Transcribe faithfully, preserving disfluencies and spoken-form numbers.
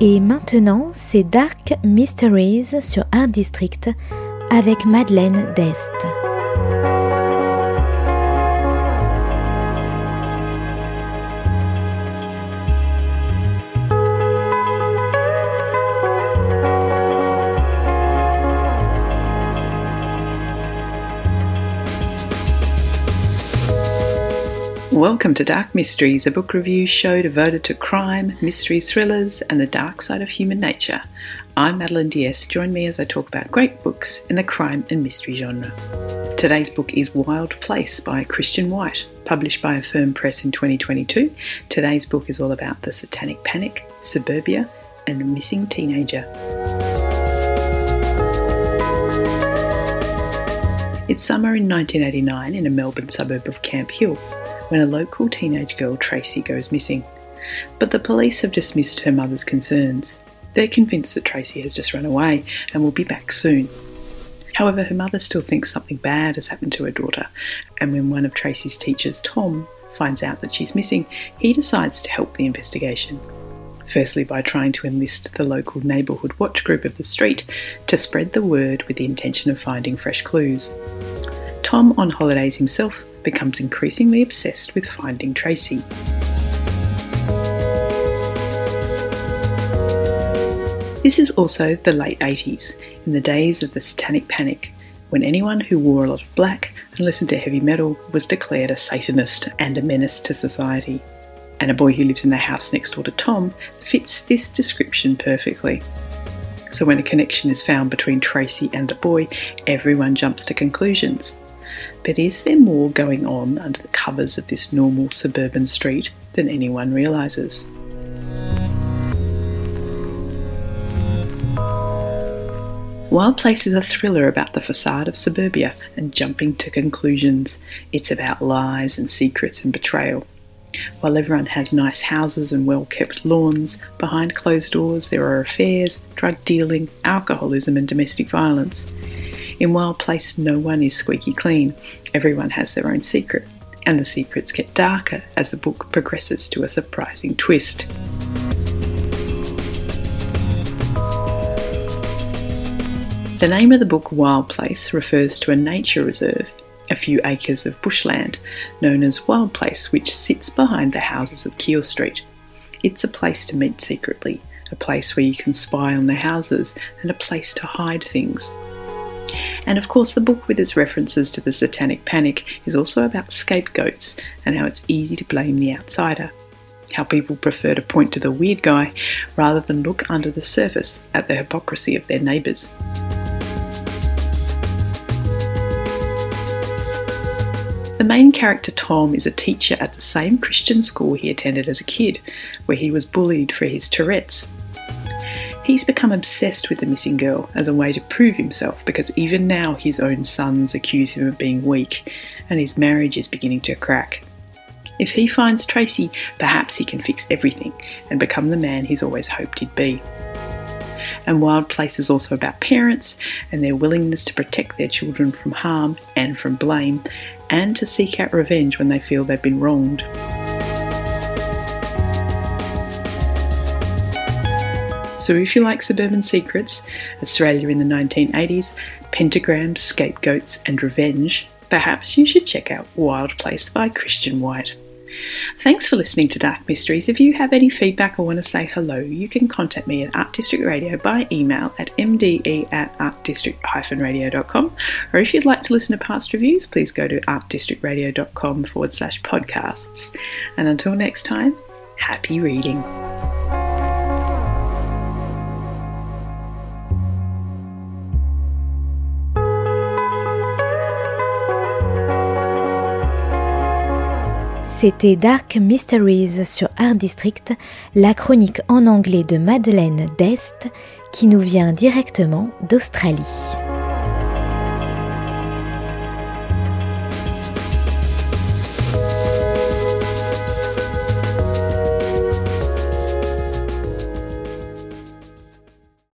Et maintenant, c'est Dark Mysteries sur Art District avec Madeleine Dest. Welcome to Dark Mysteries, a book review show devoted to crime, mystery thrillers, and the dark side of human nature. I'm Madeleine Diaz. Join me as I talk about great books in the crime and mystery genre. Today's book is Wild Place by Christian White, published by Affirm Press in twenty twenty-two. Today's book is all about the Satanic Panic, suburbia, and a missing teenager. It's summer in nineteen eighty-nine in a Melbourne suburb of Camp Hill, when a local teenage girl, Tracy, goes missing. But the police have dismissed her mother's concerns. They're convinced that Tracy has just run away and will be back soon. However, her mother still thinks something bad has happened to her daughter, and when one of Tracy's teachers, Tom, finds out that she's missing, he decides to help the investigation. Firstly, by trying to enlist the local neighbourhood watch group of the street to spread the word with the intention of finding fresh clues. Tom, on holidays himself, becomes increasingly obsessed with finding Tracy. This is also the late eighties, in the days of the Satanic Panic, when anyone who wore a lot of black and listened to heavy metal was declared a Satanist and a menace to society. And a boy who lives in the house next door to Tom fits this description perfectly. So when a connection is found between Tracy and the boy, everyone jumps to conclusions. But is there more going on under the covers of this normal suburban street than anyone realises? Wild Place is a thriller about the facade of suburbia and jumping to conclusions. It's about lies and secrets and betrayal. While everyone has nice houses and well-kept lawns, behind closed doors there are affairs, drug dealing, alcoholism and domestic violence. In Wild Place, no one is squeaky clean. Everyone has their own secret, and the secrets get darker as the book progresses to a surprising twist. The name of the book, Wild Place, refers to a nature reserve, a few acres of bushland, known as Wild Place, which sits behind the houses of Keele Street. It's a place to meet secretly, a place where you can spy on the houses, and a place to hide things. And of course, the book, with its references to the Satanic Panic, is also about scapegoats and how it's easy to blame the outsider. How people prefer to point to the weird guy rather than look under the surface at the hypocrisy of their neighbours. The main character, Tom, is a teacher at the same Christian school he attended as a kid, where he was bullied for his Tourette's. He's become obsessed with the missing girl as a way to prove himself, because even now his own sons accuse him of being weak, and his marriage is beginning to crack. If he finds Tracy, perhaps he can fix everything and become the man he's always hoped he'd be. And Wild Place is also about parents and their willingness to protect their children from harm and from blame, and to seek out revenge when they feel they've been wronged. So if you like suburban secrets, Australia in the nineteen eighties, pentagrams, scapegoats and revenge, perhaps you should check out Wild Place by Christian White. Thanks for listening to Dark Mysteries. If you have any feedback or want to say hello, you can contact me at Art District Radio by email at m d e at art district dash radio dot com, or if you'd like to listen to past reviews, please go to art district radio dot com forward slash podcasts. And until next time, happy reading. C'était Dark Mysteries sur Art District, la chronique en anglais de Madeleine Dest qui nous vient directement d'Australie.